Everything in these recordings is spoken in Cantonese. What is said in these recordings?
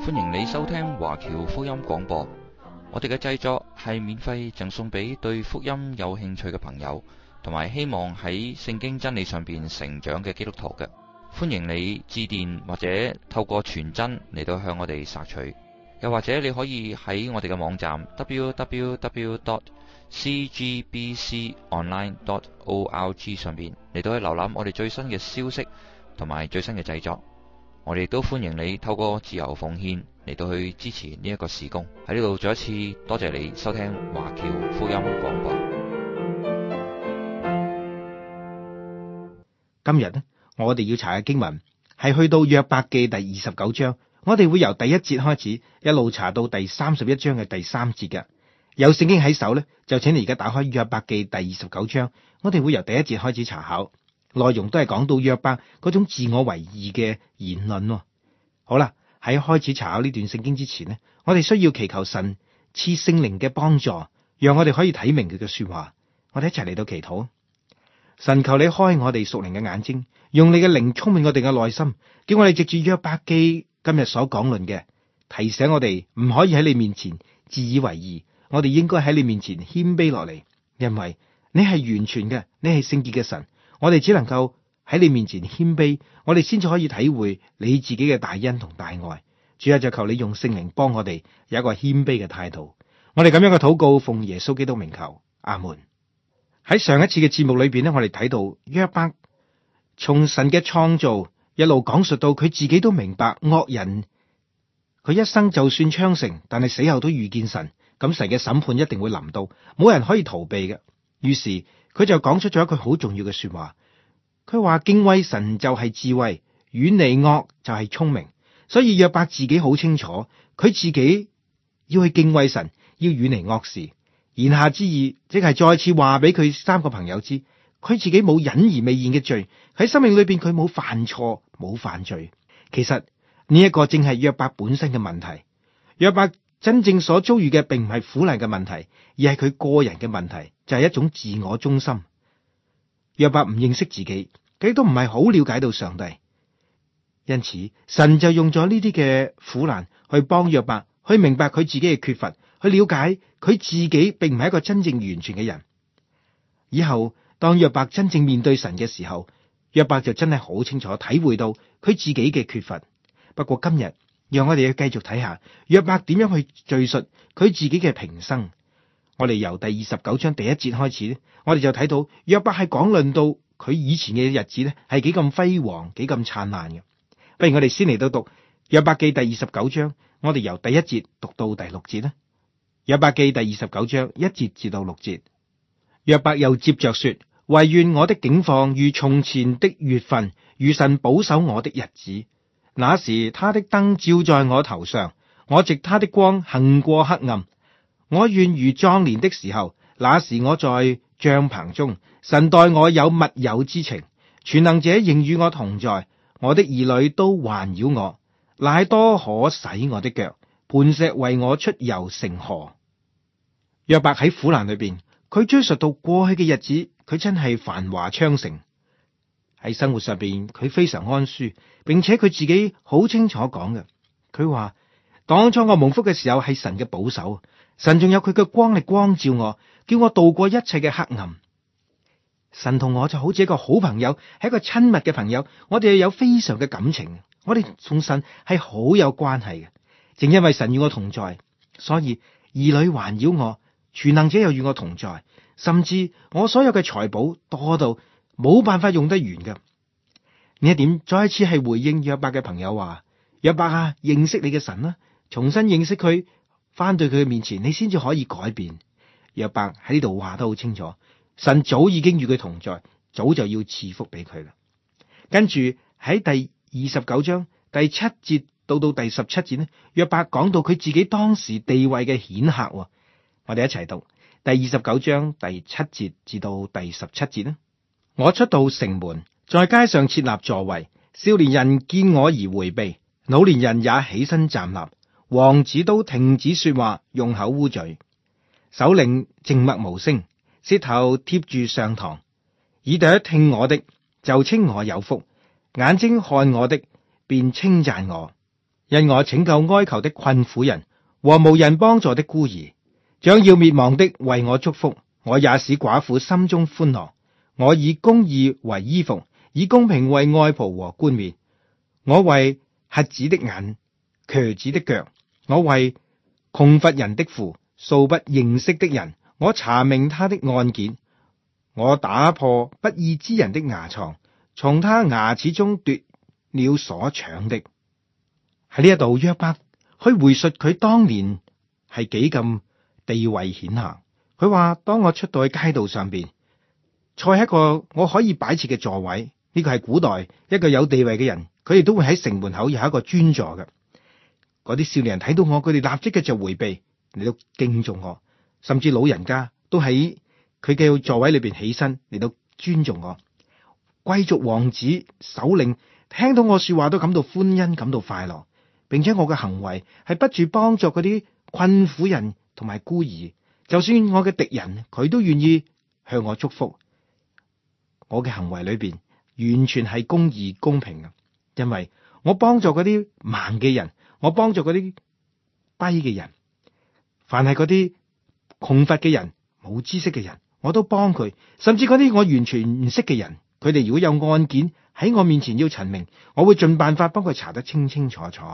歡迎你收聽華僑福音廣播。我哋嘅製作係免費贈送俾對福音有興趣嘅朋友，同埋希望喺聖經真理上邊成長嘅基督徒嘅。歡迎你致電或者透過傳真嚟到向我哋索取，又或者你可以喺我哋嘅網站 www.cgbconline.org 上邊嚟到去瀏覽我哋最新嘅消息同埋最新嘅製作。我哋都歡迎你透過自由奉獻嚟到去支持呢一個事工。喺呢度再一次多謝你收聽華僑福音廣播。 今日呢，我哋要查嘅經文係去到約伯記第29章，我哋會由第一節開始，一路查到第31章嘅第3節嘅。有聖經喺手呢，就請你而家打開約伯記第29章，我哋會由第一節開始查考。內容都係講到約伯嗰種自我為義嘅言論。好啦，喺開始查考呢段聖經之前呢，我哋需要祈求神賜聖靈嘅幫助，讓我哋可以睇明佢嘅說話。我哋一齊嚟到祈禱。神，求你開我哋屬靈嘅眼睛，用你嘅靈充滿我哋嘅內心，叫我哋藉住約伯記今日所講論嘅，提醒我哋唔可以喺你面前自以為義，我哋應該喺你面前謙卑落嚟，因為你係完全嘅，你係聖潔嘅神。我哋只能夠喺你面前謙卑，我哋先至可以體會你自己嘅大恩同大愛。主啊，就求你用聖靈幫我哋有一個謙卑嘅態度。我哋咁樣嘅禱告，奉耶穌基督名求，阿門。喺上一次嘅節目裏邊呢，我哋睇到約伯從神嘅創造一路講述到佢自己都明白惡人，佢一生就算昌盛，但係死後都遇見神，咁神嘅審判一定會臨到，冇人可以逃避嘅。於是佢就講出咗一句好重要嘅說話，佢話敬畏神就係智慧，遠離惡就係聰明。所以約伯自己好清楚，佢自己要去敬畏神，要遠離惡事。言下之意，即係再次話俾佢三個朋友知，佢自己冇隱而未現嘅罪，喺生命裏邊佢冇犯錯，冇犯罪。其實呢一個正係約伯本身嘅問題。約伯真正所遭遇嘅並唔係苦難嘅問題，而係佢個人嘅問題，就係一種自我中心。約伯唔認識自己，佢都唔係好了解到上帝，因此神就用咗呢啲嘅苦難去幫約伯去明白佢自己嘅缺乏，去了解佢自己並唔係一個真正完全嘅人。以後當約伯真正面對神嘅時候，約伯就真係好清楚體會到佢自己嘅缺乏。不過今日讓我哋要繼續睇下約伯點樣去敘述佢自己嘅平生。我哋由第29章第1節開始咧，我哋就睇到約伯係講論到佢以前嘅日子咧係幾咁輝煌，幾咁燦爛嘅。不如我哋先嚟到讀約伯記第29章，我哋由第1節讀到第6節啦。約伯記第29章1節至到6節，約伯又接着說：惟願我的景況如從前的月份，如神保守我的日子。那時他的燈照在我頭上，我藉他的光行過黑暗。我願如壯年的時候，那時我在帳棚中，神待我有密友之情，全能者仍與我同在，我的兒女都環繞我，奶多可洗我的腳，磐石為我出油成河。約伯喺苦難裏邊，佢追溯到過去嘅日子，佢真係繁華昌盛。喺生活上邊，佢非常安舒，並且佢自己好清楚講嘅，佢話當初我蒙福嘅時候係神嘅保守，神仲有佢嘅光力光照我，叫我度過一切嘅黑暗。神同我就好似一個好朋友，係一個親密嘅朋友，我哋有非常嘅感情，我哋同神係好有關係嘅。正因為神與我同在，所以兒女環繞我，全能者又與我同在，甚至我所有嘅財寶多到冇辦法用得完嘅。呢一點再一次係回應約伯嘅朋友話：約伯啊，認識你嘅神啦，重新認識佢，翻到佢嘅面前，你先至可以改變。約伯喺呢度話得好清楚，神早已經與佢同在，早就要賜福俾佢啦。跟住喺第29章第7節到第17節呢，約伯講到佢自己當時地位嘅顯赫。我哋一齊讀第29章第7節至到第17節呢。我出到城門，在街上設立座位，少年人見我而迴避，老年人也起身站立，王子都停止說話，用口烏嘴，首領靜默無聲，舌頭貼住上膛，耳朵聽我的就稱我有福，眼睛看我的便稱讚我。 因我拯救哀求的困苦人和無人幫助的孤兒，將要滅亡的為我祝福。我也使寡婦心中歡樂。我以公義為衣服，以公平為外袍和冠冕。我為瞎子的眼，瘸子的腳。我為窮乏人的父，素不認識的人，我查明他的案件。我打破不義之人的牙床，從他牙齒中奪了所搶的。喺呢一度，約伯去回述佢當年係幾咁地位顯赫。佢話：當我出到去街道上邊，坐喺一個我可以擺設嘅座位，呢個係古代一個有地位嘅人，佢哋都會喺城門口有一個專座嘅。嗰啲少年人睇到我，佢哋立即嘅就回避嚟到敬重我，甚至老人家都喺佢嘅座位裏邊起身嚟到尊重我。貴族王子首領聽到我說話都感到歡欣，感到快樂，並且我嘅行為係不住幫助嗰啲困苦人同埋孤兒。就算我嘅敵人，佢都願意向我祝福。我嘅行為裏邊完全係公義公平嘅，因為我幫助嗰啲盲嘅人，我幫助嗰啲跛嘅人，凡係嗰啲窮乏嘅人、冇知識嘅人，我都幫佢。甚至嗰啲我完全唔識嘅人，佢哋如果有案件喺我面前要陳明，我會盡辦法幫佢查得清清楚楚。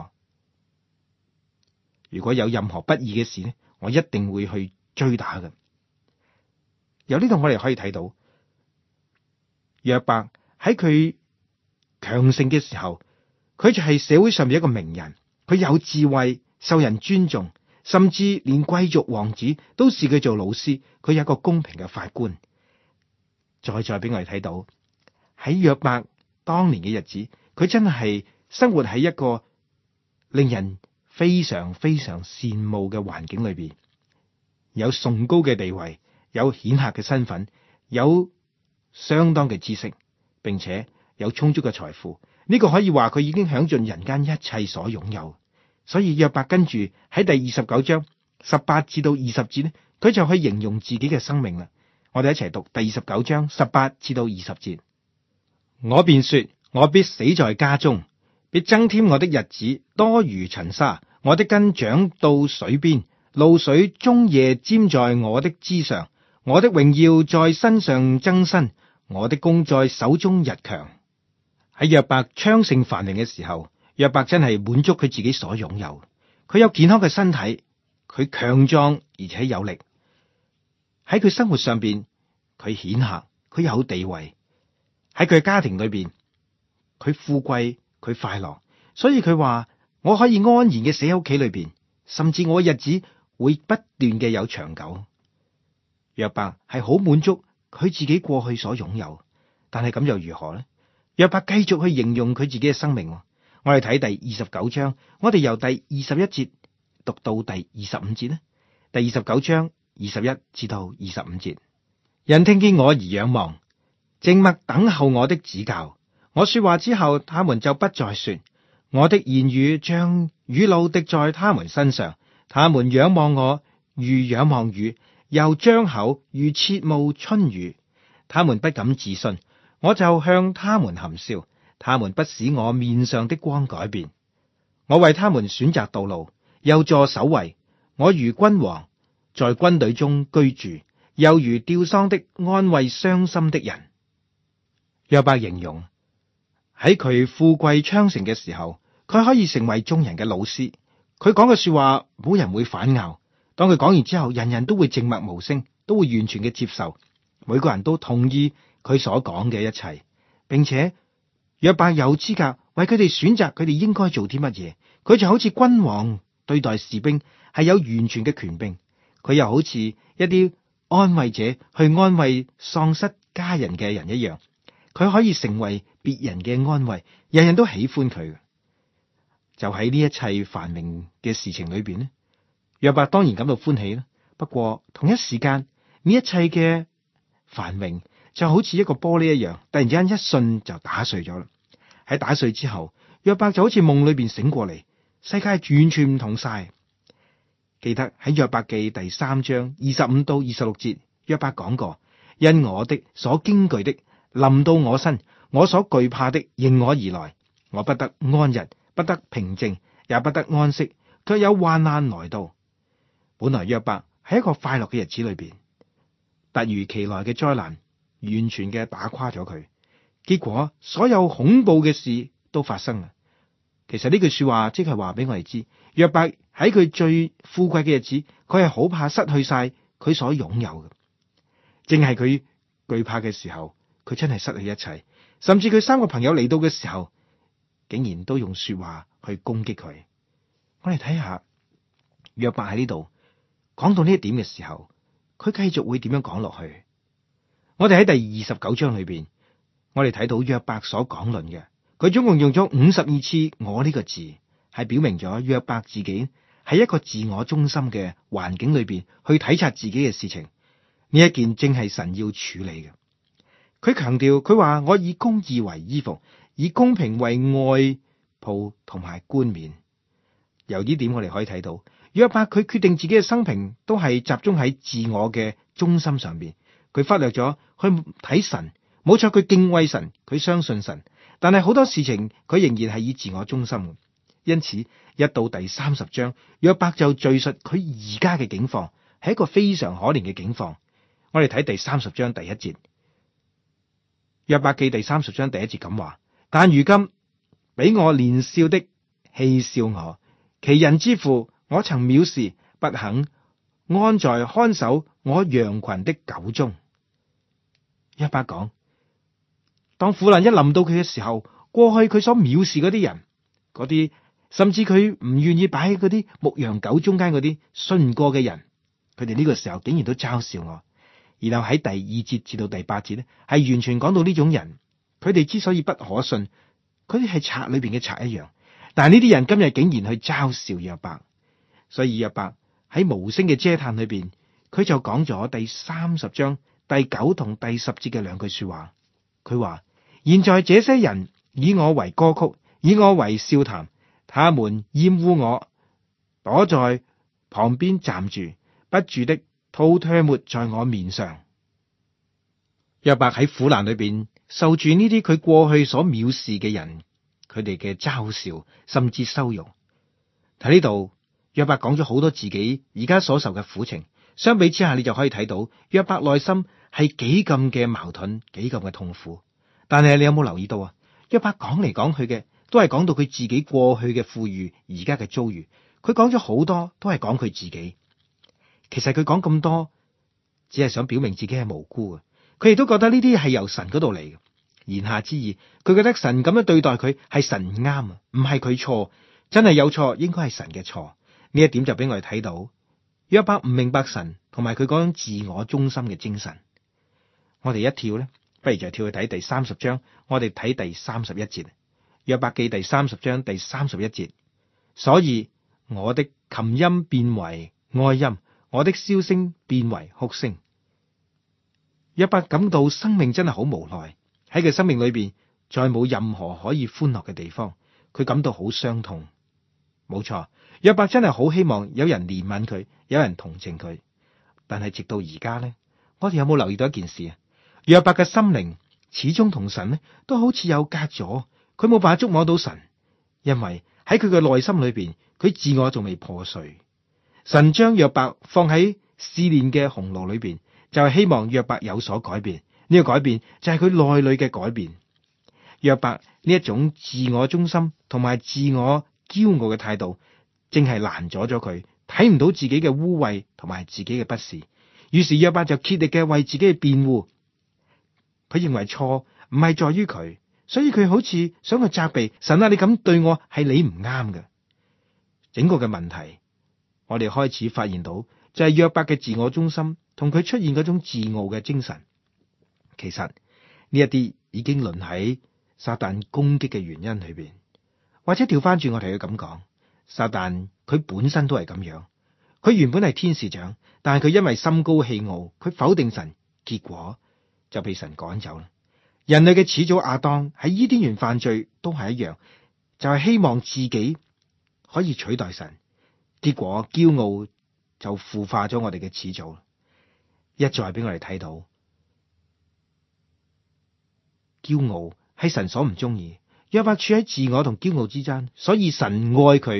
如果有任何不義嘅事呢，我一定會去追打嘅。由呢度我哋可以睇到，約伯喺佢強盛嘅時候，佢就係社會上面一個名人，佢有智慧，受人尊重，甚至連貴族王子都視佢做老師。佢有一個公平嘅法官。再俾我哋睇到喺約伯當年嘅日子，佢真係生活喺一個令人非常非常羨慕嘅環境裏邊。有崇高嘅地位，有顯赫嘅身份，有相當嘅知識，並且有充足嘅財富。呢個可以話佢已經享盡人間一切所擁有。所以約伯跟住喺第29章18至到20節呢，佢就去形容自己嘅生命啦。我哋一齊讀第29章18至到20節。我便說，我必死在家中，必增添我的日子多如塵沙。我的根長到水邊，露水終夜沾在我的枝上。我的榮耀在身上增新，我的弓在手中日強。喺約伯昌盛繁榮嘅時候，約伯真係滿足佢自己所擁有。佢有健康嘅身體，佢強壯而且有力。喺佢生活上邊，佢顯赫，佢有地位。喺佢嘅家庭裏邊，佢富貴，佢快樂。所以佢話：我可以安然嘅死喺屋企裏邊，甚至我嘅日子會不斷嘅有長久。約伯係好滿足佢自己過去所擁有，但係咁又如何呢？約伯繼續去形容佢自己嘅生命。我哋睇第29章，我哋由第21節讀到第25節呢。第29章21至到25節，人聽見我而仰望，靜默等候我的指教。我說話之後，他們就不再說。我的言語像雨露滴在他們身上，他們仰望我如仰望雨，又張口如切慕春雨。他們不敢自信，我就向他們含笑。他們不使我面上的光改變。我為他們選擇道路，又坐首位。我如君王，在軍隊中居住，又如吊喪的安慰傷心的人。約伯形容喺佢富貴昌盛嘅時候，佢可以成為眾人嘅老師。佢講嘅說話冇人會反拗。當佢講完之後，人人都會靜默無聲，都會完全嘅接受。每個人都同意佢所講嘅一切，並且約伯有資格為佢哋選擇佢哋應該做啲乜嘢。佢就好似君王對待士兵，係有完全嘅權柄。佢又好似一啲安慰者去安慰喪失家人嘅人一樣，佢可以成為別人嘅安慰，人人都喜歡佢。就喺呢一切繁榮嘅事情裏邊呢，約伯當然感到歡喜啦。不過同一時間，呢一切嘅繁榮就好似一個玻璃一樣，突然之間一瞬就打碎咗啦。喺打碎之後，約伯就好似夢裏邊醒過嚟，世界完全唔同晒。記得喺約伯記第3章25到26節，約伯講過：因我的所驚懼的臨到我身，我所懼怕的迎我而來，我不得安逸，不得平靜， 也不得安息，卻有患難來到。本來約伯喺一個快樂嘅日子裏邊，突如其來嘅災難完全嘅打垮咗佢，結果所有恐怖嘅事都發生啦。其實呢句說話即係話俾我哋知，約伯喺佢最富貴嘅日子，佢係好怕失去晒佢所擁有嘅。正係佢懼怕嘅時候，佢真係失去一切。甚至佢三個朋友嚟到嘅時候，竟然都用說話去攻擊佢。我哋睇下約伯喺呢度講到呢一點嘅時候，佢繼續會點樣講落去？我哋喺第29章裏邊，我哋睇到約伯所講論嘅，佢總共用咗52次我呢個字，係表明咗約伯自己喺一個自我中心嘅環境裏邊去體察自己嘅事情。呢一件正係神要處理嘅。佢強調，佢話我以公義為衣服，以公平為外袍同埋冠冕。由呢點我哋可以睇到，約伯佢決定自己嘅生平都係集中喺自我嘅中心上邊，佢忽略咗去睇神。冇錯，佢敬畏神，佢相信神，但係好多事情佢仍然係以自我中心。因此，一到第30章，約伯就敘述佢而家嘅境況，係一個非常可憐嘅境況。我哋睇第30章第1節，約伯記第30章第1節咁話：但如今比我年少的戲笑我，其人之父我曾藐視，不肯安在看守我羊群的狗中。約伯講，當苦難一臨到佢嘅時候，過去佢所藐視嗰啲人，嗰啲甚至佢唔願意擺喺嗰啲牧羊狗中間嗰啲信唔過嘅人，佢哋呢個時候竟然都嘲笑我。然後喺第2節至到第8節咧，係完全講到呢種人，佢哋之所以不可信，佢哋係賊裏邊嘅賊一樣。但係呢啲人今日竟然去嘲笑約伯，所以約伯喺無聲嘅嗟嘆裏邊，佢就講咗第30章第9同第10節嘅兩句說話。佢話：現在這些人以我為歌曲，以我為笑談，他們厭惡我，躲在旁邊站住，不住的吐唾沫在我面上。約伯喺苦難裏邊受住呢啲佢過去所藐視嘅人，佢哋嘅嘲笑甚至羞辱。喺呢度，約伯講咗好多自己而家所受嘅苦情。相比之下，你就可以睇到約伯內心係幾咁嘅矛盾，幾咁嘅痛苦。但係你有冇留意到啊？約伯講嚟講去嘅都係講到佢自己過去嘅富裕，而家嘅遭遇。佢講咗好多都係講佢自己。其實佢講咁多，只係想表明自己係無辜嘅。佢亦都覺得呢啲係由神嗰度嚟嘅。言下之意，佢覺得神咁樣對待佢係神唔啱啊，唔係佢錯，真係有錯應該係神嘅錯。呢一點就俾我哋睇到約伯唔明白神同埋佢嗰種自我中心嘅精神。我哋一跳咧，不如就跳去睇第30章，我哋睇第31節。約伯記第30章第31節，所以我的琴音變為哀音，我的簫聲變為哭聲。約伯感到生命真係好無奈，喺佢生命裏邊再冇任何可以歡樂嘅地方，佢感到好傷痛。冇錯，約伯真係好希望有人憐憫佢，有人同情佢。但係直到而家呢，我哋有冇留意到一件事啊？約伯嘅心靈始終同神呢都好似有隔咗，佢冇辦法觸摸到神，因為喺佢嘅內心裏邊，佢自我仲未破碎。神將約伯放喺試煉嘅紅爐裏邊，就係希望約伯有所改變。呢個改變就係佢內裏嘅改變。約伯呢一種自我中心同埋自我驕傲嘅態度，正係攔阻咗佢睇唔到自己嘅污穢同埋自己嘅不是。於是約伯就竭力嘅為自己嘅辯護。佢認為錯唔係在於佢，所以佢好似想去責備神啊！你咁對我係你唔啱嘅。整個嘅問題，我哋開始發現到就係約伯嘅自我中心同佢出現嗰種自傲嘅精神。其實呢一啲已經淪喺撒旦攻擊嘅原因裏邊，或者調翻轉我哋去咁講，撒旦佢本身都係咁樣。佢原本係天使長，但係佢因為心高氣傲，佢否定神，結果就被神趕走啦。人類嘅始祖亞當喺伊甸園犯罪都係一樣，就係希望自己可以取代神，結果驕傲就腐化咗我哋嘅始祖。一再俾我哋睇到，驕傲係神所唔中意。約伯處喺自我同驕傲之間，所以神愛佢，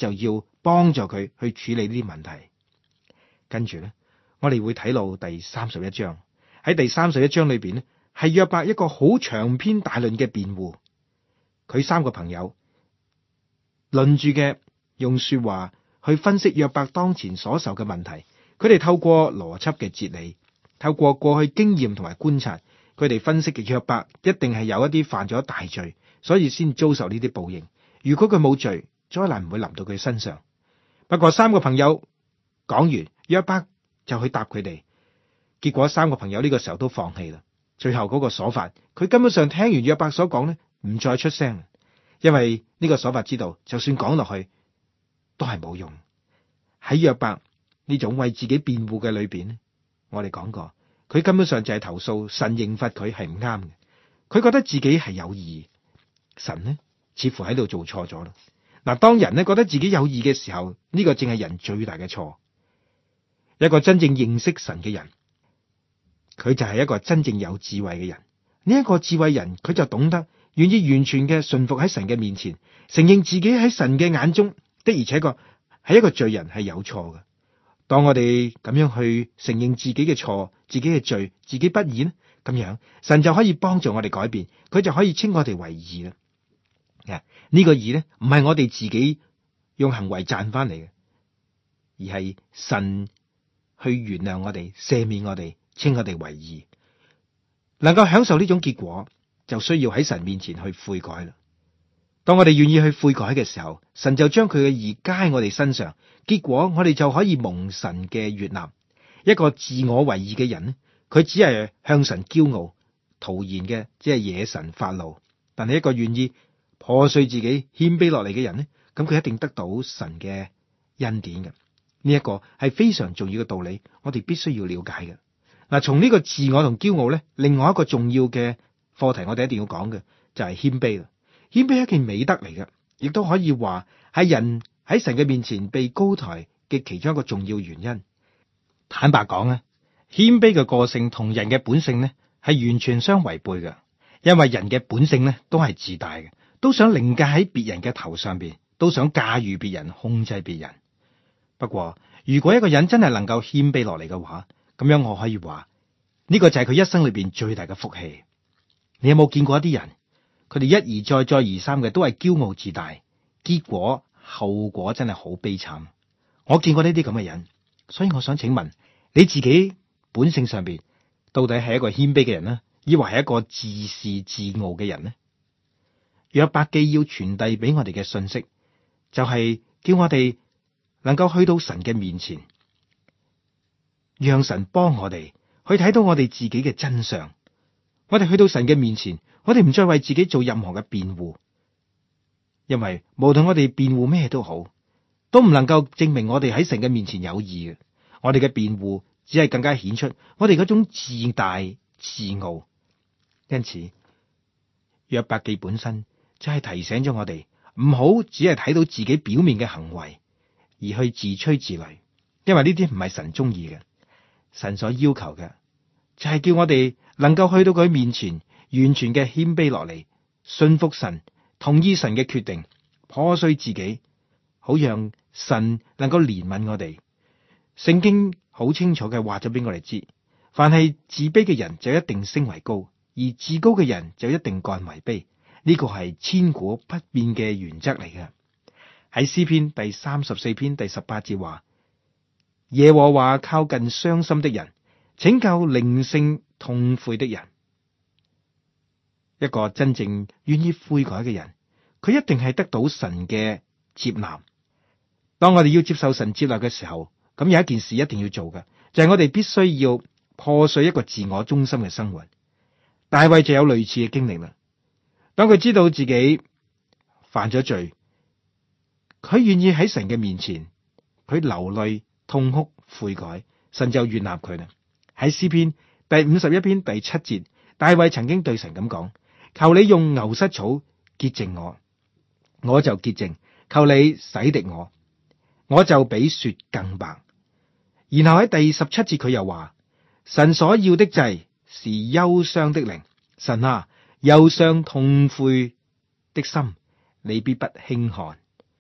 就要幫助佢去處理呢啲問題。跟住咧，我哋會睇到第31章。喺第31章裏邊咧，係約伯一個好長篇大論嘅辯護。佢三個朋友輪住嘅用說話去分析約伯當前所受嘅問題。佢哋透過邏輯嘅哲理，透過過去經驗同埋觀察，佢哋分析嘅約伯一定係有一啲犯咗大罪，所以先遭受呢啲報應。如果佢冇罪，災難唔會臨到佢身上。不過三個朋友講完，約伯就去答佢哋。結果三個朋友呢個時候都放棄啦。最後嗰個瑣法，佢根本上聽完約伯所講呢，唔再出聲，因為呢個瑣法知道，就算講落去都係冇用。喺約伯呢種為自己辯護嘅裏邊，我哋講過，佢根本上就係投訴神刑罰佢係唔啱嘅。佢覺得自己係有義，神呢似乎喺度做錯咗啦。嗱，當人呢覺得自己有義嘅時候，呢個正係人最大嘅錯。一個真正認識神嘅人，佢就係一個真正有智慧嘅人。呢一個智慧人，佢就懂得願意完全嘅順服喺神嘅面前，承認自己喺神嘅眼中的而且確係一個罪人，係有錯嘅。當我哋咁樣去承認自己嘅錯、自己嘅罪、自己不義呢，咁樣神就可以幫助我哋改變，佢就可以稱我哋為義啦。呢個義呢，唔係我哋自己用行為賺翻嚟嘅，而係神去原諒我哋、赦免我哋、稱我哋為義。能夠享受呢種結果，就需要喺神面前去悔改啦。當我哋願意去悔改嘅時候，神就將佢嘅義加喺我哋身上，結果我哋就可以蒙神嘅悅納。一個自我為義嘅人呢，佢只係向神驕傲、徒然嘅，只係惹神發怒。但係一個願意破碎自己、謙卑落嚟嘅人呢，咁佢一定得到神嘅恩典嘅。呢一個係非常重要嘅道理，我哋必須要了解嘅。嗱，從呢個自我同驕傲咧，另外一個重要嘅課題，我哋一定要講嘅就係謙卑啦。謙卑係一件美德嚟嘅，亦都可以話係人喺神嘅面前被高抬嘅其中一個重要原因。坦白講咧，謙卑嘅個性同人嘅本性咧係完全相違背嘅，因為人嘅本性咧都係自大嘅，都想凌駕喺別人嘅頭上邊，都想駕馭別人、控制別人。不過，如果一個人真係能夠謙卑落嚟嘅話，咁樣我可以話呢個就係佢一生裏邊最大嘅福氣。你有冇見過一啲人，佢哋一而再、再而三嘅都係驕傲自大，結果後果真係好悲慘。我見過呢啲咁嘅人，所以我想請問你自己本性上邊到底係一個謙卑嘅人呢，抑或係一個自視自傲嘅人呢？約伯記要傳遞俾我哋嘅信息，就係叫我哋能夠去到神嘅面前，讓神幫我哋去睇到我哋自己嘅真相。我哋去到神嘅面前，我哋唔再為自己做任何嘅辯護，因為無論我哋辯護咩都好，都唔能夠證明我哋喺神嘅面前有義嘅。我哋嘅辯護只係更加顯出我哋嗰種自大自傲。因此，約伯記本身就係提醒咗我哋，唔好只係睇到自己表面嘅行為而去自吹自擂，因為呢啲唔係神中意嘅。神所要求嘅就係叫我哋能夠去到佢面前，完全嘅謙卑落嚟，信服神，同意神嘅決定，破碎自己，好讓神能夠憐憫我哋。聖經好清楚嘅話咗俾我哋知，凡係自卑嘅人就一定升為高，而自高嘅人就一定降為卑。呢個係千古不變嘅原則嚟嘅。喺詩篇第34篇第18節話：耶和華靠近傷心的人，拯救靈性痛悔的人。一個真正願意悔改嘅人，佢一定係得到神嘅接納。當我哋要接受神接納嘅時候，咁有一件事一定要做嘅，就係我哋必須要破碎一個自我中心嘅生活。大衛就有類似嘅經歷啦。當佢知道自己犯咗罪，佢願意喺神嘅面前，佢流淚痛哭悔改，神就悅納佢啦。喺詩篇第51篇第7節，大衛曾經對神咁講：求你用牛膝草潔淨我，我就潔淨；求你洗滌我，我就比雪更白。然後喺第17節佢又話：神所要的祭是憂傷的靈，神啊，憂傷痛悔的心，你必不輕看。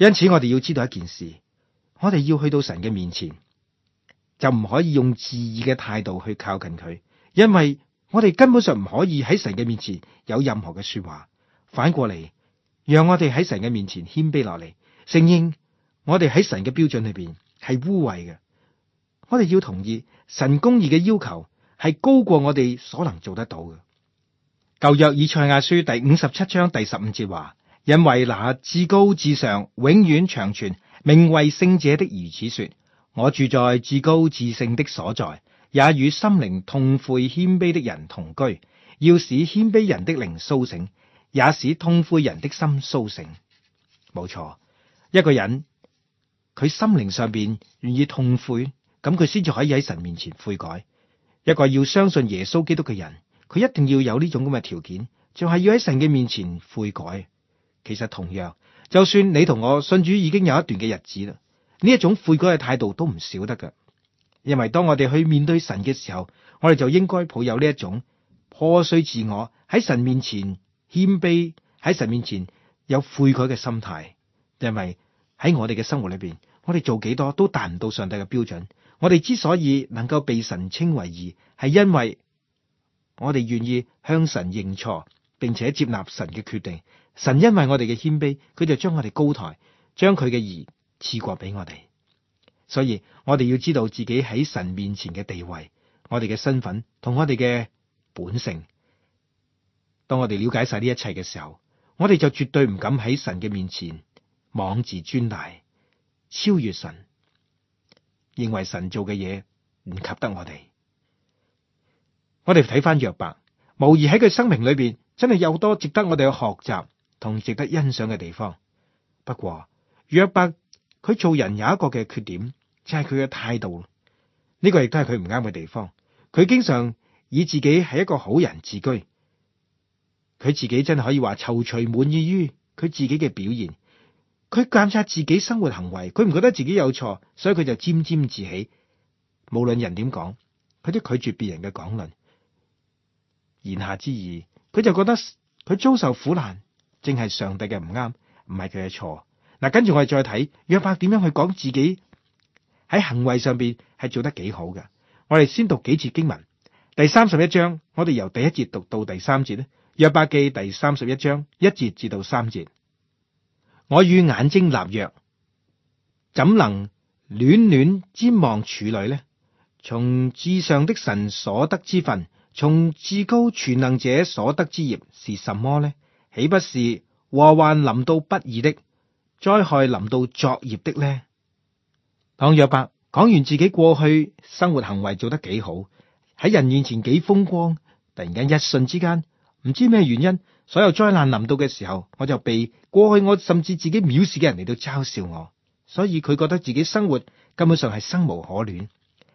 因此我哋要知道一件事，我哋要去到神嘅面前，就唔可以用自義嘅態度去靠近佢，因為我哋根本上唔可以喺神嘅面前有任何嘅說話。反過嚟，讓我哋喺神嘅面前謙卑落嚟，承認我哋喺神嘅標準裏邊係污穢嘅。我哋要同意神公義嘅要求係高過我哋所能做得到嘅。舊約以賽亞書第57章第15節話：因為那至高至上永遠長存名為聖者的如此說，我住在至高至聖的所在，也與心靈痛悔謙卑的人同居，要使謙卑人的靈甦醒，也使痛悔人的心甦醒。冇錯，一個人佢心靈上邊願意痛悔，咁佢先至可以喺神面前悔改。一個要相信耶穌基督嘅人，佢一定要有呢種咁嘅條件，就係要喺神嘅面前悔改。其實同樣，就算你同我信主已經有一段嘅日子啦，呢一種悔改嘅態度都唔少得噶。因為當我哋去面對神嘅時候，我哋就應該抱有呢一種破碎自我，喺神面前謙卑，喺神面前有悔改嘅心態。因為喺我哋嘅生活裏邊，我哋做幾多都達唔到上帝嘅標準。我哋之所以能夠被神稱為義，係因為我哋願意向神認錯，並且接納神嘅決定。神因為我哋嘅謙卑，佢就將我哋高抬，將佢嘅義賜過俾我哋。所以我哋要知道自己喺神面前嘅地位，我哋嘅身份同我哋嘅本性。當我哋了解晒呢一切嘅時候，我哋就絕對唔敢喺神嘅面前妄自尊大，超越神，認為神做嘅嘢唔及得我哋。我哋睇翻約伯，無疑喺佢生命裏邊真係有多值得我哋去學習同值得欣賞嘅地方。不過約伯佢做人有一個嘅缺點，就係佢嘅態度。呢個亦都係佢唔啱嘅地方。佢經常以自己係一個好人自居，佢自己真係可以話躊躇滿意於佢自己嘅表現。佢監察自己生活行為，佢唔覺得自己有錯，所以佢就沾沾自喜。無論人點講，佢都拒絕別人嘅講論。言下之意，佢就覺得佢遭受苦難，正係上帝嘅唔啱，唔係佢嘅錯。嗱，跟住我哋再睇約伯點樣去講自己喺行為上邊係做得幾好嘅。我哋先讀幾節經文，第31章，我哋由第1節讀到第3節咧。約伯記第31章1節至到3節。我與眼睛立約，怎能戀戀瞻望處女呢？從至上的神所得之分，從至高全能者所得之業是什麼呢？豈不是禍患臨到不義的，災害臨到作孽的呢？當約伯講完自己過去生活行為做得幾好，喺人面前幾風光，突然間一瞬之間，唔知咩原因，所有災難臨到嘅時候，我就被過去我甚至自己藐視嘅人嚟到嘲笑我，所以佢覺得自己生活根本上係生無可戀。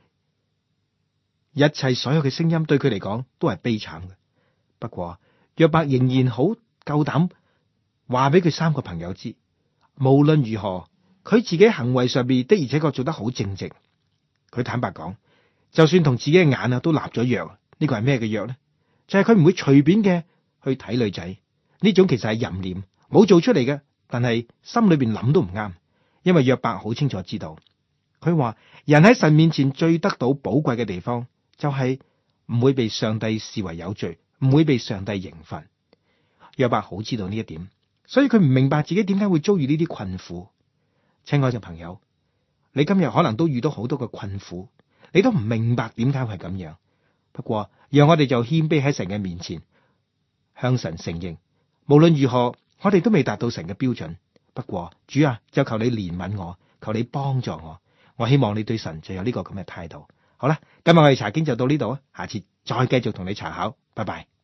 一切所有嘅聲音對佢嚟講都係悲慘嘅。不過約伯仍然好夠膽話俾佢3個朋友知，無論如何，佢自己行為上邊的而且確做得好正直。佢坦白講，就算同自己嘅眼都立咗約，呢個係咩嘅約呢？就係佢唔會隨便嘅去睇女仔。呢種其實係淫念，冇做出嚟嘅，但係心裏邊諗都唔啱。因為約伯好清楚知道，佢話人喺神面前最得到寶貴嘅地方，就係唔會被上帝視為有罪，唔會被上帝刑罰。約伯好知道呢一點，所以佢唔明白自己點解會遭遇呢啲困苦。親愛嘅朋友，你今日可能都遇到好多嘅困苦，你都唔明白點解會咁樣。不過讓我哋就謙卑喺神嘅面前，向神承認，無論如何，我哋都未達到神嘅標準。不過主啊，就求你憐憫我，求你幫助我。我希望你對神就有呢個咁嘅態度。好啦，今日我哋查經就到呢度啊，下次再繼續同你查考，拜拜。